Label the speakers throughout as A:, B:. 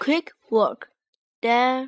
A: Quick work. Dan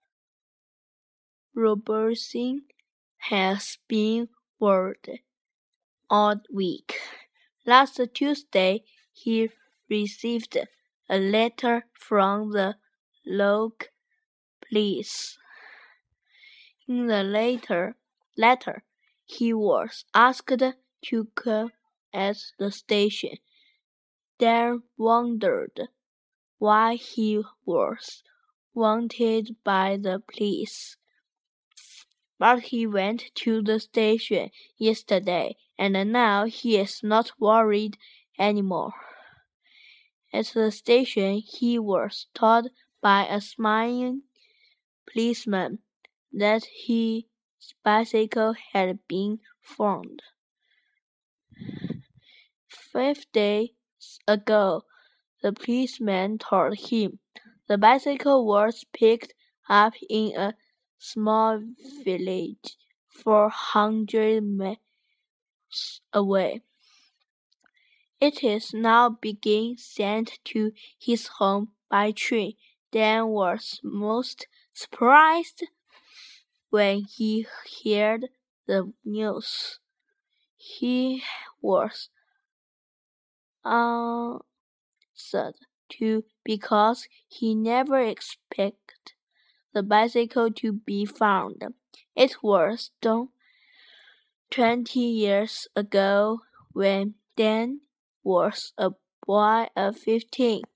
A: Robertson has been worried all week. Last Tuesday, he received a letter from the local police. In the letter, he was asked to come at the station. Dan wondered why he was wanted by the police. But he went to the station yesterday, and now he is not worried anymore. At the station, he was told by a smiling policeman that his bicycle had been found. 5 days ago, the policeman told him the bicycle was picked up in a small village 400 miles away. It is now being sent to his home by train. Dan was most surprised when he heard the news. He was answered too because he never expected the bicycle to be found. It was done 20 years ago when Dan was a boy of 15.